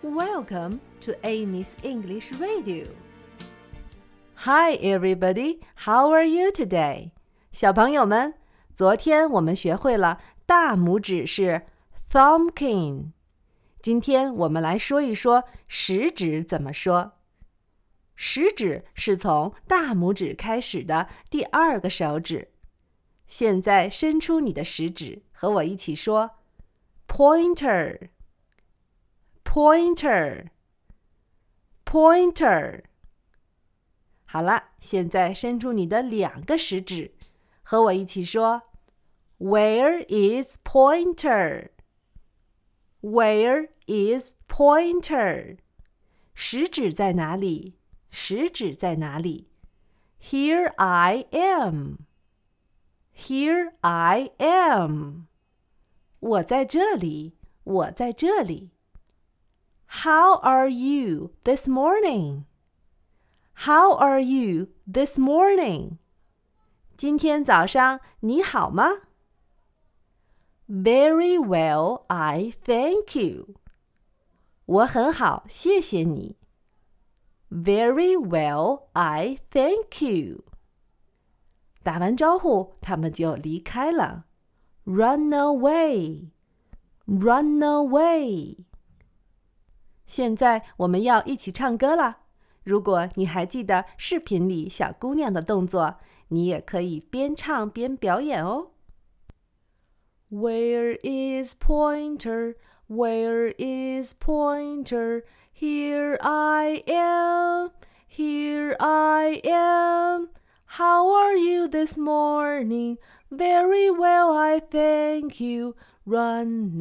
Welcome to Amy's English Radio. Hi everybody, how are you today? 小朋友们，昨天我们学会了大拇指是 thumbkin。今天我们来说一说食指怎么说。食指是从大拇指开始的第二个手指。现在伸出你的食指，和我一起说 pointer。Pointer, pointer。好了，现在伸出你的两个食指，和我一起说 Where is pointer? Where is pointer? 食指在哪里？食指在哪里？ Here I am. Here I am. 我在这里，我在这里。How are you this morning? How are you this morning? 今天早上你好吗？ Very well, I thank you. 我很好，谢谢你。Very well, I thank you. 打完招呼，他们就离开了。Run away, run away.现在我们要一起唱歌了。如果你还记得视频里小姑娘的动作，你也可以边唱边表演哦。Where is pointer? Where is pointer? Here I am. Here I am. How are you this morning? Very well, I thank you. Run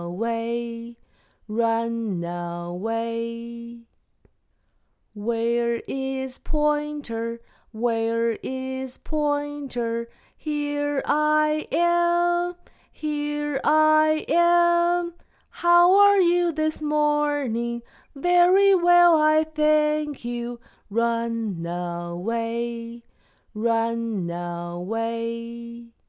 away.Run away. Where is pointer? Where is pointer? Here I am. Here I am. How are you this morning? Very well, I thank you. Run away. Run away.